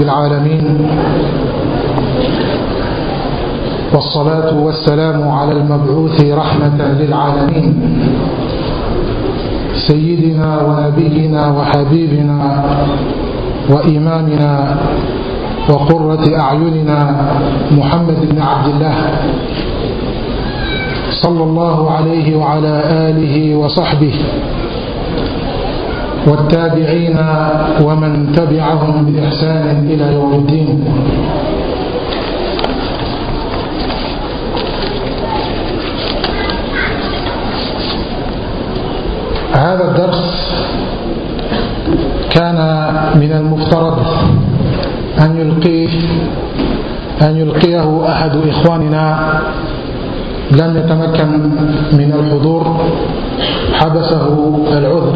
رب العالمين، والصلاة والسلام على المبعوث رحمة للعالمين سيدنا ونبينا وحبيبنا وإمامنا وقرة أعيننا محمد بن عبد الله صلى الله عليه وعلى آله وصحبه والتابعين ومن تبعهم بإحسان إلى يوم الدين. هذا الدرس كان من المفترض أن يلقيه أحد إخواننا، لم يتمكن من الحضور، حبسه العذر،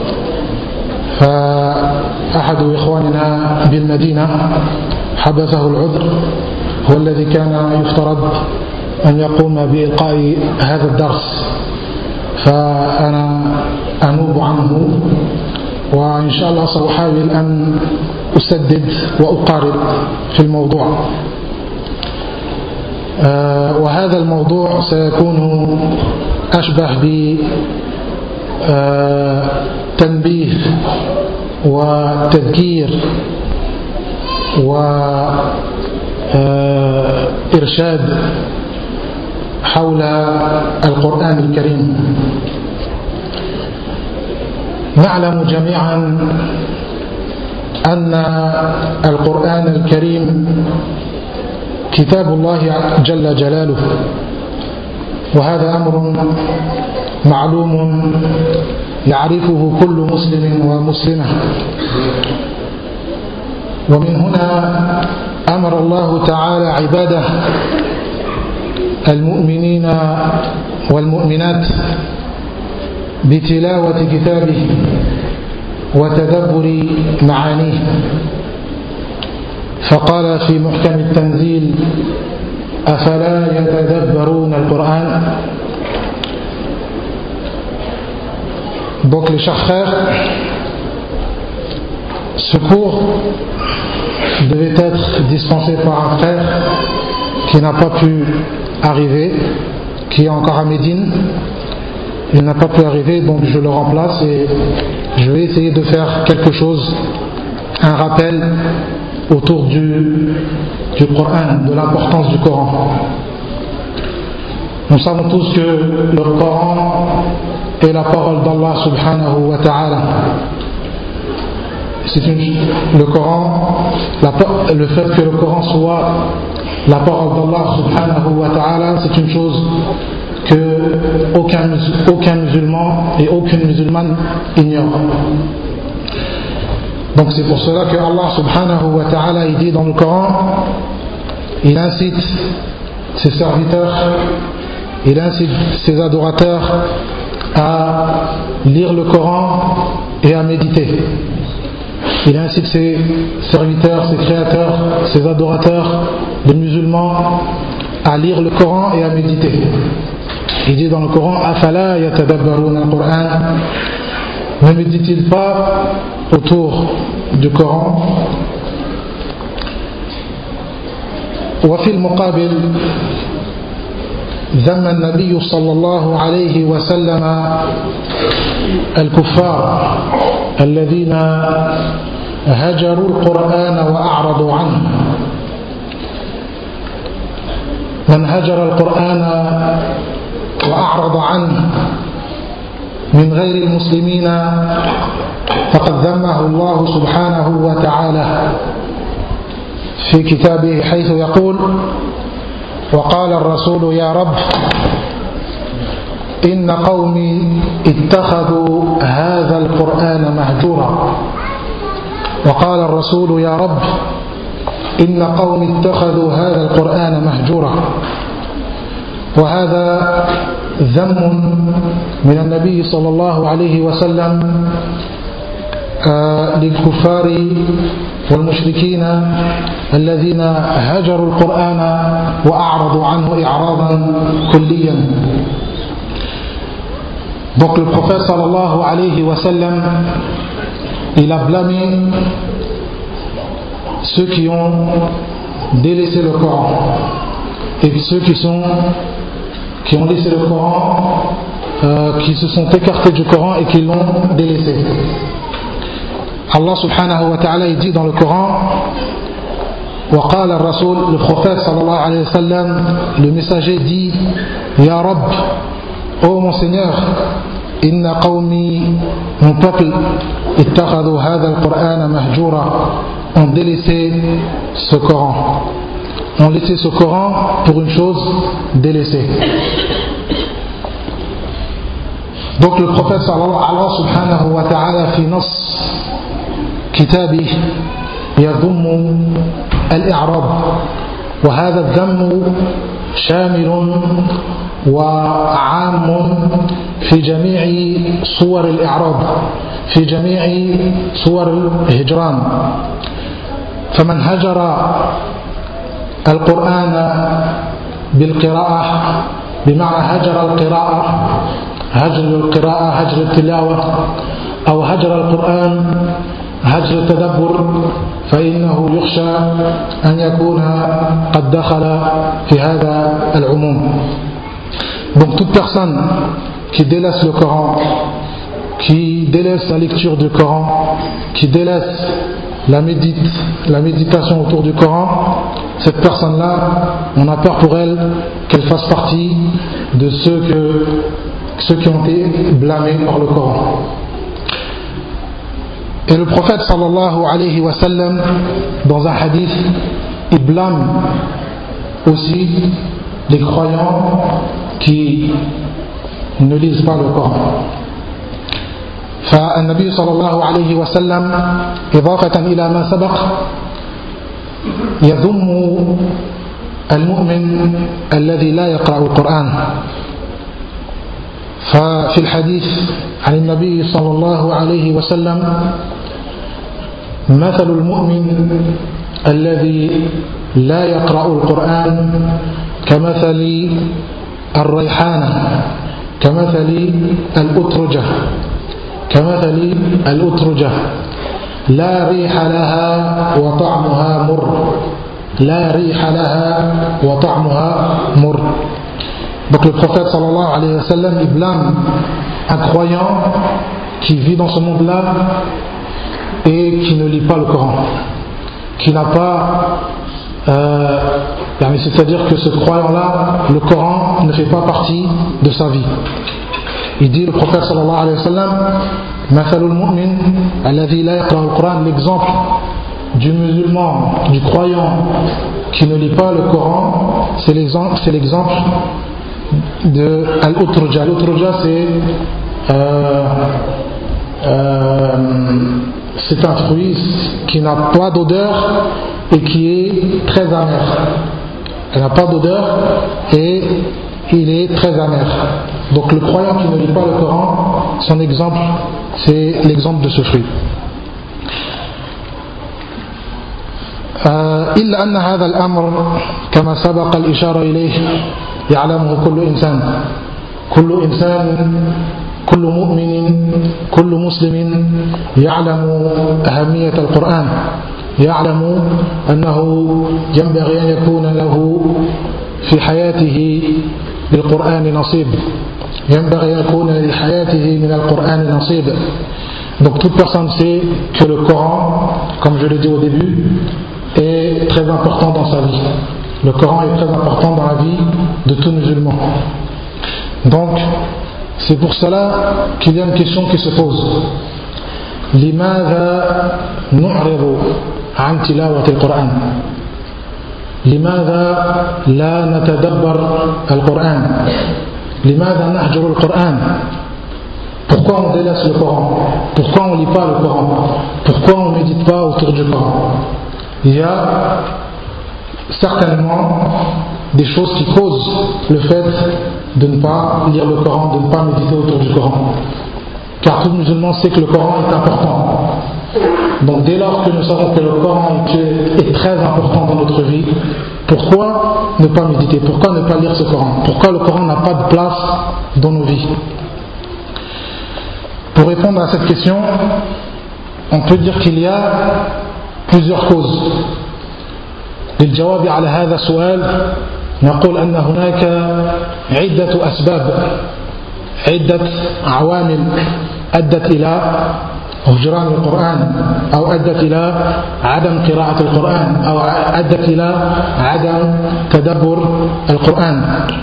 فأحد إخواننا بالمدينة حبسه العذر، هو الذي كان يفترض أن يقوم بإلقاء هذا الدرس، فأنا أنوب عنه، وإن شاء الله سأحاول أن أسدد وأقارب في الموضوع. وهذا الموضوع سيكون أشبه بتنبيه وتذكير وإرشاد حول القرآن الكريم. نعلم جميعا أن القرآن الكريم كتاب الله جل جلاله، وهذا أمر معلوم يعرفه كل مسلم ومسلمة. ومن هنا أمر الله تعالى عباده المؤمنين والمؤمنات بتلاوة كتابه وتدبر معانيه، فقال في محكم التنزيل: أفلا يتدبرون القرآن. Donc les chers frères, ce cours devait être dispensé par un frère qui n'a pas pu arriver, qui est encore à Médine. Il n'a pas pu arriver, donc je le remplace et je vais essayer de faire quelque chose, un rappel autour du Coran, de l'importance du Coran. Nous savons tous que le Coran est la parole d'Allah subhanahu wa ta'ala. Le Coran, le fait que le Coran soit la parole d'Allah subhanahu wa ta'ala, c'est une chose que aucun musulman et aucune musulmane ignore. Donc c'est pour cela que Allah subhanahu wa ta'ala, il dit dans le Coran, il incite ses serviteurs, il incite ses adorateurs à lire le Coran et à méditer. Il incite ses serviteurs, ses créateurs, ses adorateurs, les musulmans, à lire le Coran et à méditer. Il dit dans le Coran: Afala yatadabbaruna al-Qur'an. Ne médite-t-il pas autour du Coran? وفي المقابل ذم النبي صلى الله عليه وسلم الكفار الذين هجروا القرآن وأعرضوا عنه. من هجر القرآن وأعرض عنه من غير المسلمين فقد ذمه الله سبحانه وتعالى في كتابه، حيث يقول: وقال الرسول يا رب إن قومي اتخذوا هذا القرآن مهجورا. وقال الرسول يا رب إن قومي اتخذوا هذا القرآن مهجورا. وهذا ذم من النبي صلى الله عليه وسلم للكفار والمشركين الذين هجروا القرآن وأعرضوا عنه إعراضا كليا. Donc le prophète sallallahu alayhi wa sallam, il a blâmé ceux qui ont délaissé le Coran et ceux qui ont laissé le Coran, qui se sont écartés du Coran et qui l'ont délaissé. Allah subhanahu wa ta'ala dit dans le Coran, وقال الرسول, le prophète sallallahu alayhi wa sallam, le messager dit, Ya Rabb, ô mon Seigneur, inna qawmi, mon peuple, ittakhadhu hadha al-Qur'ana mahjura, ont délaissé ce Coran, ont laissé ce Coran pour une chose délaissée. Donc le prophète sallallahu subhanahu wa ta'ala fi nas kitabih يذم الإعراب وهذا الذم شامل وعام في جميع صور الإعراب في جميع صور الهجران فمن هجر القرآن بالقراءة بمعنى هجر القراءة هجر التلاوة أو هجر القرآن هجر التدبر فإنه يخشى أن يكون قد دخل في هذا العموم. Donc toute personne qui délaisse le Coran, qui délaisse la lecture du Coran, qui délaisse la méditation autour du Coran, cette personne-là, on a peur pour elle qu'elle fasse partie de ceux qui ont été blâmés par le Coran. Et le prophète sallallahu alayhi wa sallam, dans un hadith, il blâme aussi les croyants qui ne lisent pas le Coran. فالنبي صلى الله عليه وسلم إضافة إلى ما سبق يذم المؤمن الذي لا يقرأ القرآن. ففي الحديث عن النبي صلى الله عليه وسلم مثل المؤمن الذي لا يقرأ القرآن كمثل الريحانة كمثل الأترجة لا ريح لها وطعمها مر. Donc le prophète sallallahu alayhi wa sallam, il blâme un croyant qui vit dans ce monde-là et qui ne lit pas le Coran, qui n'a pas c'est-à-dire que ce croyant-là, le Coran ne fait pas partie de sa vie. Il dit, le prophète sallallahu alayhi wa sallam, Mathalul mu'min alladhi la yaqra al-Quran, l'exemple du musulman, du croyant qui ne lit pas le Coran, c'est l'exemple de Al-Utruja. Al-Utruja, c'est un fruit qui n'a pas d'odeur et qui est très amer. Elle n'a pas d'odeur et il est très amer. Donc le croyant qui ne lit pas le Coran, son exemple, c'est l'exemple de ce fruit. إلا أن هذا الأمر كما سبق الإشارة إليه يعلمه كل إنسان كل مؤمن كل مسلم يعلم أهمية القرآن، يعلم أنه ينبغي أن يكون له في حياته بالقرآن نصيب، ينبغي أن يكون لحياته من القرآن نصيب. Donc toute personne sait que le Coran, comme je l'ai dit au début, est très important dans sa vie. Le Coran est très important dans la vie de tout musulman. Donc c'est pour cela qu'il y a une question qui se pose. لماذا نعرض عن تلاوة القرآن؟ لماذا لا نتدبر القرآن؟ لماذا نهجر القرآن؟ Pourquoi on délaisse le Coran? Pourquoi on ne lit pas le Coran? Pourquoi on ne médite pas autour du Coran? Il y a certainement des choses qui causent le fait de ne pas lire le Coran, de ne pas méditer autour du Coran. Car tout musulman sait que le Coran est important. Donc dès lors que nous savons que le Coran est très important dans notre vie, pourquoi ne pas méditer? Pourquoi ne pas lire ce Coran? Pourquoi le Coran n'a pas de place dans nos vies? Pour répondre à cette question, on peut dire qu'il y a plusieurs causes. للجواب على هذا السؤال نقول أن هناك عدة أسباب، عدة عوامل أدت إلى هجران القرآن، أو أدت إلى عدم قراءة القرآن، أو أدت إلى عدم تدبر القرآن.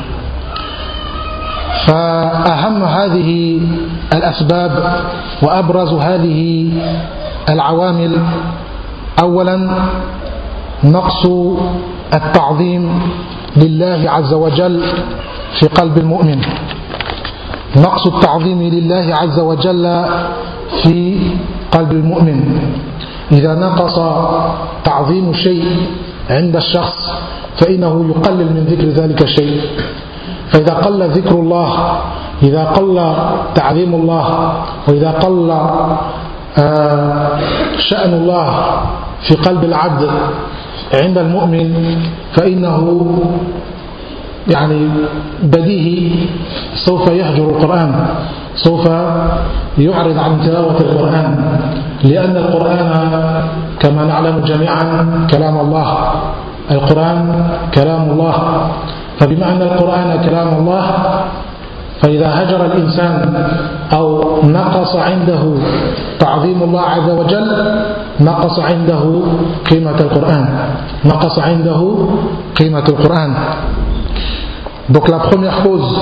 فأهم هذه الأسباب وأبرز هذه العوامل أولا نقص التعظيم لله عز وجل في قلب المؤمن، نقص التعظيم لله عز وجل في قلب المؤمن. إذا نقص تعظيم شيء عند الشخص فإنه يقلل من ذكر ذلك الشيء. فإذا قل ذكر الله، إذا قل تعظيم الله، وإذا قل شأن الله في قلب العبد عند المؤمن فإنه بديهي سوف يهجر القرآن، سوف يعرض عن تلاوة القرآن، لأن القرآن كما نعلم جميعا كلام الله، القرآن كلام الله. فبما أن القرآن كلام الله فإذا هجر الإنسان أو نقص عنده تعظيم الله عز وجل نقص عنده قيمة القرآن، نقص عنده قيمة القرآن. Donc la première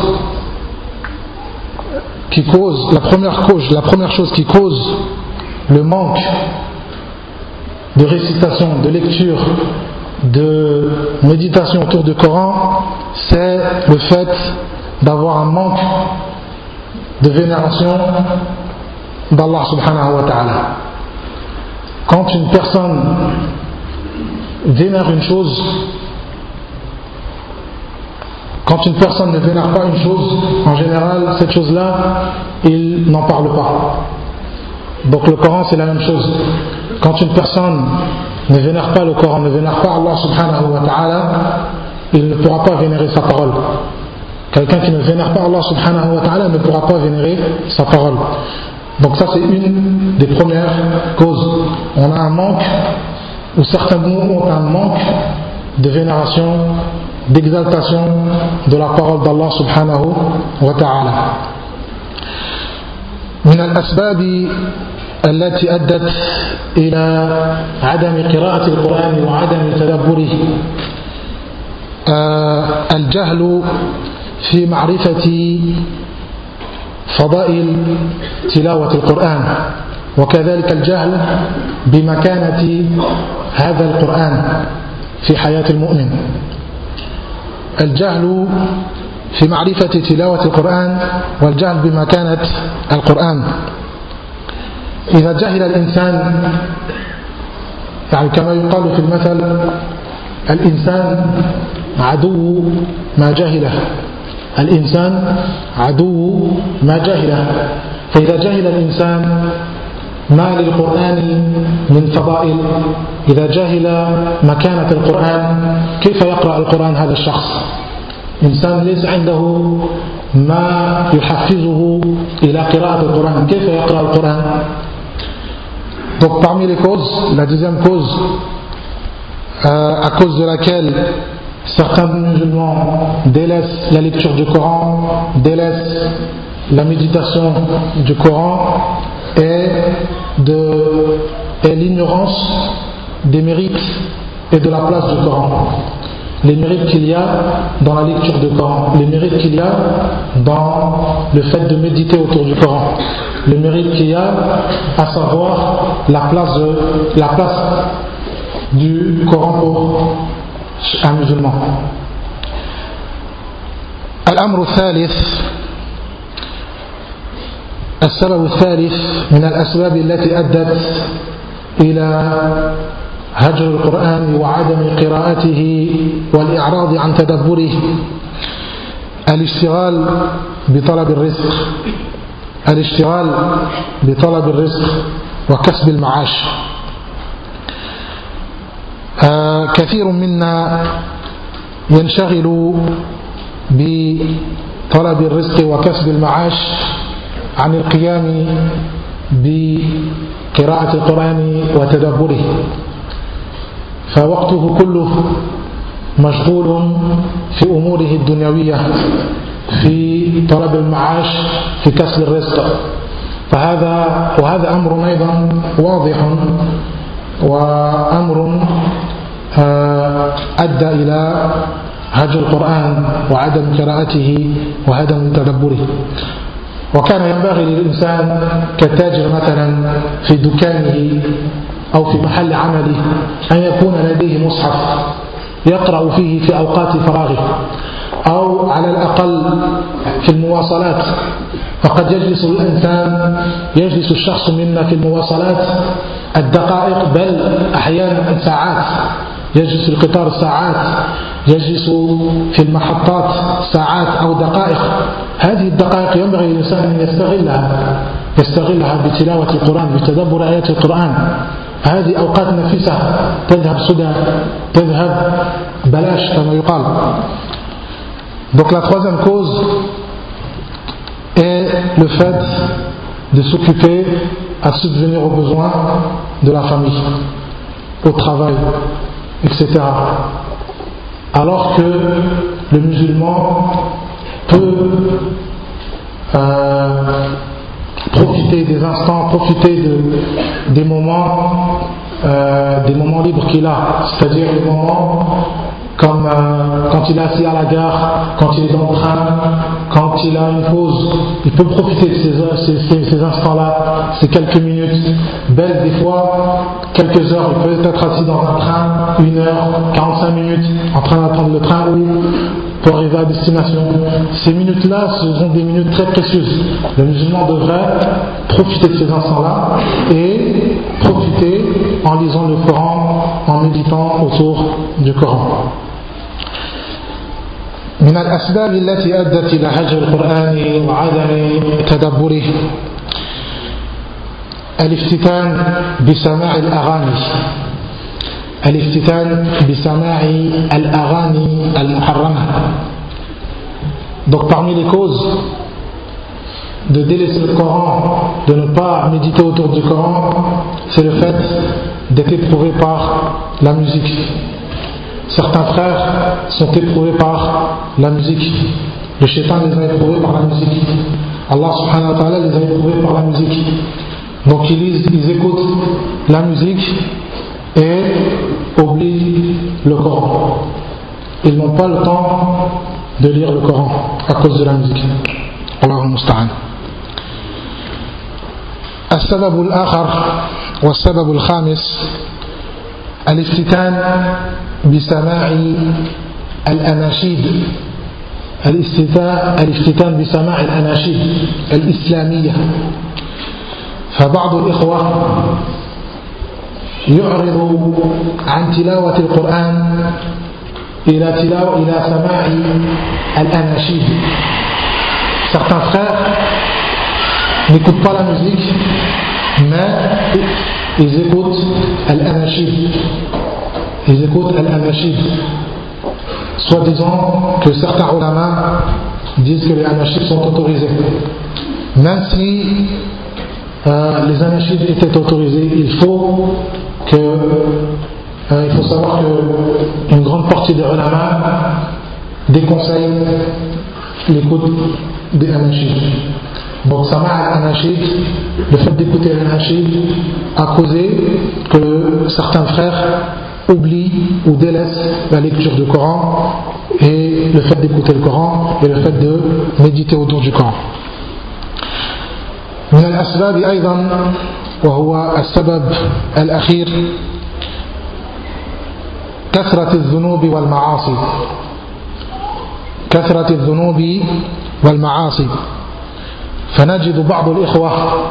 chose qui cause le manque de récitation, de lecture, de méditation autour du Coran, c'est le fait d'avoir un manque de vénération d'Allah subhanahu wa ta'ala. Quand une personne vénère une chose, quand une personne ne vénère pas une chose, en général, cette chose-là, il n'en parle pas. Donc le Coran, c'est la même chose. Quand une personne ne vénère pas le Coran, ne vénère pas Allah subhanahu wa ta'ala, il ne pourra pas vénérer sa parole. Quelqu'un qui ne vénère pas Allah subhanahu wa ta'ala ne pourra pas vénérer sa parole. Donc ça, c'est une des premières causes. On a un manque, ou certains ont un manque de vénération, d'exaltation de la parole d'Allah subhanahu wa ta'ala. من الأسباب التي أدت إلى عدم قراءة القرآن وعدم تدبره الجهل في معرفة فضائل تلاوة القرآن، وكذلك الجهل بمكانة هذا القرآن في حياة المؤمن. الجهل في معرفة تلاوة القرآن والجهل بمكانة القرآن. إذا جهل الإنسان، كما يقال في المثل الإنسان عدو ما جهله، الإنسان عدو ما جهله. فإذا جهل الإنسان ما للقرآن من فضائل، إذا جهل مكانة القرآن كيف يقرأ القرآن هذا الشخص؟ إنسان ليس عنده ما يحفزه إلى قراءة القرآن، كيف يقرأ القرآن؟ Donc parmi les causes, la deuxième cause à cause de laquelle certains musulmans délaissent la lecture du Coran, délaissent la méditation du Coran, est l'ignorance des mérites et de la place du Coran. Les mérites qu'il y a dans la lecture du Coran, les mérites qu'il y a dans le fait de méditer autour du Coran, les mérites qu'il y a à savoir la place du Coran pour un musulman. الأمر الثالث، السبب الثالث من الأسباب التي أدت إلى هجر القرآن وعدم قراءته والإعراض عن تدبره الاشتغال بطلب الرزق، الاشتغال بطلب الرزق وكسب المعاش. كثير منا ينشغل بطلب الرزق وكسب المعاش عن القيام بقراءة القرآن وتدبره. فوقته كله مشغول في أموره الدنيوية، في طلب المعاش، في كسب الرزق. وهذا أمر أيضا واضح، وأمر أدى إلى هجر القرآن وعدم قراءته وعدم تدبره. وكان ينبغي للإنسان كالتاجر مثلا في دكانه أو في محل عمله أن يكون لديه مصحف يقرأ فيه في أوقات فراغه، أو على الأقل في المواصلات. فقد يجلس الشخص منا في المواصلات الدقائق، بل أحيانا ساعات، يجلس في القطار ساعات، يجلس في المحطات ساعات أو دقائق. هذه الدقائق ينبغي للإنسان أن يستغلها بتلاوة القرآن، بتدبر آيات القرآن. هذه أوقات نفيسة تذهب سدى، تذهب بلاش كما يقال. Donc la troisième cause est le fait de s'occuper à subvenir aux besoins de la famille, au travail, etc. Alors que le musulman peut profiter des instants, profiter des moments libres qu'il a, c'est-à-dire les moments comme quand il est assis à la gare, quand il est dans le train, quand il a une pause. Il peut profiter de ces instants-là, ces quelques minutes, belles des fois, quelques heures. Il peut être assis dans un train, 1 heure, 45 minutes, en train d'attendre le train ou pour arriver à destination. Ces minutes-là, ce sont des minutes très précieuses. Le musulman devrait profiter de ces instants-là et profiter en lisant le Coran, en méditant autour du Coran. من الأسباب التي أدت إلى هجر القرآن وعدم تدبره الافتتان بسماع الأغاني المحرمة. Donc parmi les causes de délaisser le Coran, de ne pas méditer autour du Coran, c'est le fait d'être éprouvé par la musique. Certains frères sont éprouvés par la musique. Le shaitan les a éprouvés par la musique. Allah subhanahu wa ta'ala les a éprouvés par la musique. Donc ils écoutent la musique et oublient le Coran. Ils n'ont pas le temps de lire le Coran à cause de la musique. Allahu musta'an. السبب الآخر والسبب الخامس الافتتان بسماع الأناشيد الإسلامية. فبعض الإخوة يعرض عن تلاوة القرآن إلى سماع الأناشيد. Certains frères n'écoutent pas la musique, mais ils écoutent al-anashid. Ils écoutent al-anashid, soi-disant que certains ulama disent que les anashid sont autorisés. Même si les anashid étaient autorisés, il faut savoir qu'une grande partie des ulama déconseillent l'écoute des anashid. Donc Sama' al-Anashid, le fait d'écouter al-Anashid a causé que certains frères oublient ou délaissent la lecture du Coran et le fait d'écouter le Coran et le fait de méditer autour du Coran. من الأسباب أيضا وهو السبب الأخير كثرة الذنوب والمعاصي. فنجد بعض الإخوة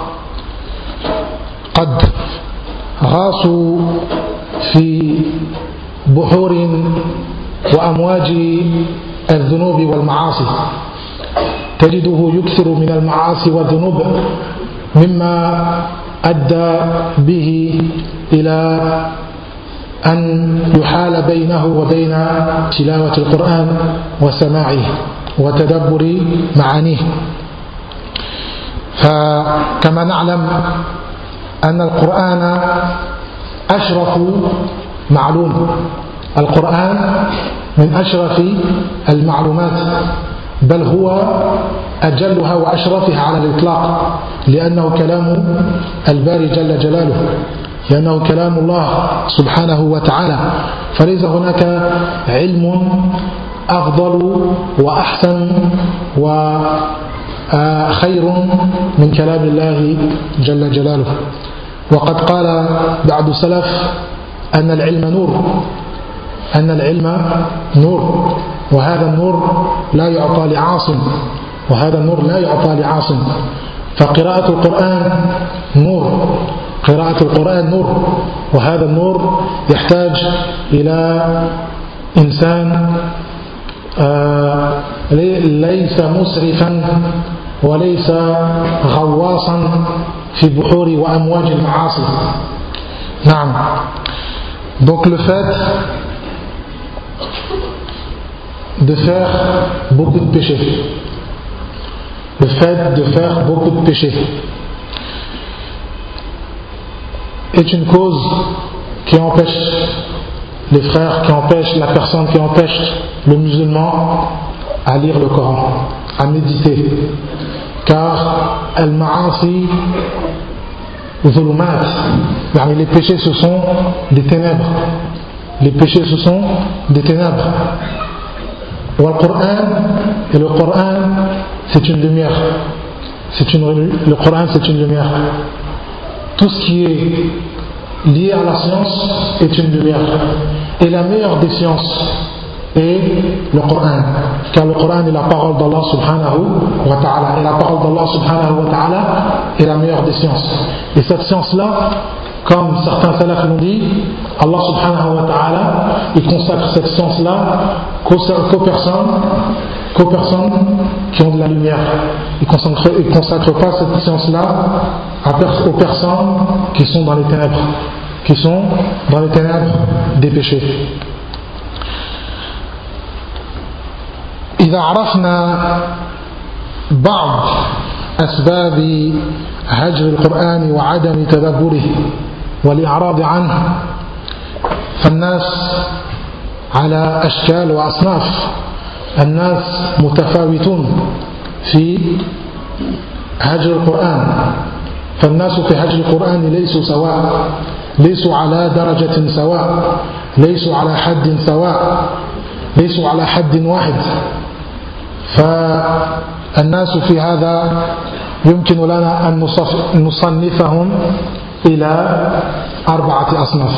قد غاصوا في بحور وأمواج الذنوب والمعاصي. تجده يكثر من المعاصي والذنوب مما أدى به إلى أن يحال بينه وبين تلاوة القرآن وسماعه وتدبر معانيه. فكما نعلم أن القرآن أشرف معلوم. القرآن من أشرف المعلومات، بل هو أجلها وأشرفها على الإطلاق، لأنه كلام الباري جل جلاله، لأنه كلام الله سبحانه وتعالى. فليس هناك علم أفضل وأحسن وخير من كلام الله جل جلاله. وقد قال بعض السلف أن العلم نور، أن العلم نور، وهذا النور لا يعطى لعاصم، وهذا النور لا يعطى لعاصم. فقراءة القرآن نور، قراءة القرآن نور، وهذا النور يحتاج إلى إنسان ليس مسرفا وليس غواصا في بحور وأمواج المعاصي. نعم. Donc le fait de faire beaucoup de péchés, le fait de faire beaucoup de péchés est une cause qui empêche les frères, qui empêche la personne, qui empêche le musulman à lire le Coran, à méditer. Car al-ma'asi zulumat, les péchés ce sont des ténèbres, les péchés ce sont des ténèbres. Et le Coran c'est une lumière, le Coran c'est une lumière. Tout ce qui est lié à la science est une lumière, et la meilleure des sciences est le Coran, car le Coran est la parole d'Allah subhanahu wa ta'ala, et la parole d'Allah subhanahu wa ta'ala est la meilleure des sciences. Et cette science-là, comme certains salafs l'ont dit, Allah subhanahu wa ta'ala, il consacre cette science-là qu'aux personnes qui ont de la lumière. Il ne consacre pas cette science-là aux personnes qui sont dans les ténèbres, des péchés. إذا عرفنا بعض أسباب هجر القرآن وعدم تدبره والإعراض عنه، فالناس على أشكال وأصناف، الناس متفاوتون في هجر القرآن، فالناس في هجر القرآن ليسوا سواء، ليسوا على درجة سواء، ليسوا على حد سواء، ليسوا على حد واحد. فالناس في هذا يمكن لنا أن نصنفهم إلى 4 أصناف،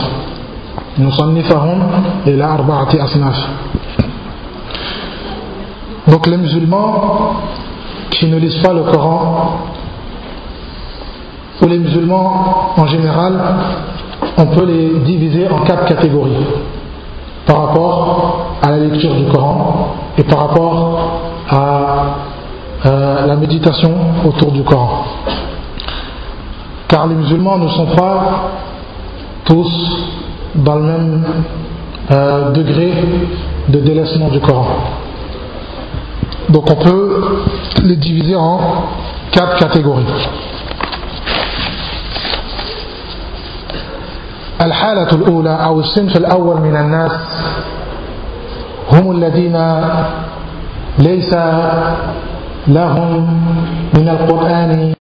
Donc les musulmans qui ne lisent pas le Coran, ou les musulmans en général, on peut les diviser en 4 catégories par rapport à la lecture du Coran et par rapport à la méditation autour du Coran. Car les musulmans ne sont pas tous dans le même degré de délaissement du Coran. Donc on peut les diviser en 4 catégories. الحالة الأولى أو الصنف الأول من الناس هم الذين ليس لهم من القرآن